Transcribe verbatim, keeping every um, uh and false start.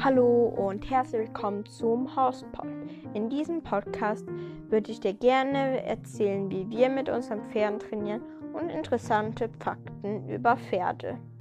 Hallo und herzlich willkommen zum Hauspod. In diesem Podcast würde ich dir gerne erzählen, wie wir mit unseren Pferden trainieren und interessante Fakten über Pferde.